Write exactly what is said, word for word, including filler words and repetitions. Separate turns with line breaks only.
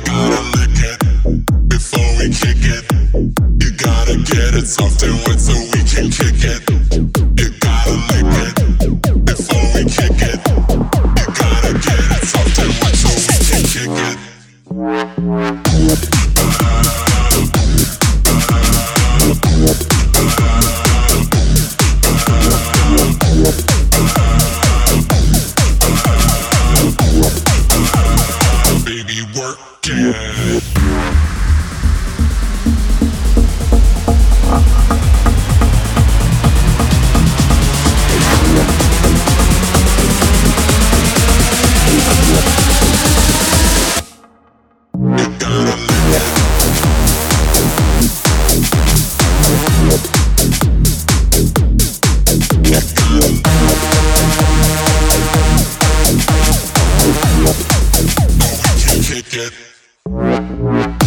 gotta lick it before we kick it. You gotta get it soft and wet so we can kick it. You gotta lick it before we kick it. You gotta get it soft and wet so we can kick it. Baby, work it. Kick it.